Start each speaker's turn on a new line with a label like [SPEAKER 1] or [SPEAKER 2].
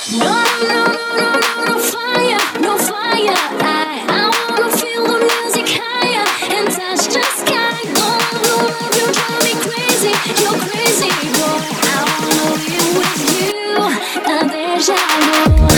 [SPEAKER 1] No, no, no, no, no fire, no fire. I wanna feel the music higher and touch the sky. Oh, love, you drive me crazy, you're crazy boy. I wanna be with you, a deja vu.